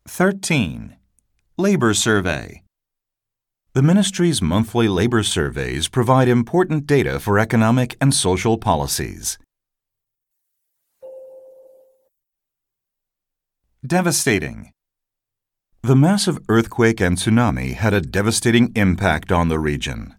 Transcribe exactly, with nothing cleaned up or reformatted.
thirteen. Labor Survey. The Ministry's monthly labor surveys provide important data for economic and social policies. Devastating. The massive earthquake and tsunami had a devastating impact on the region.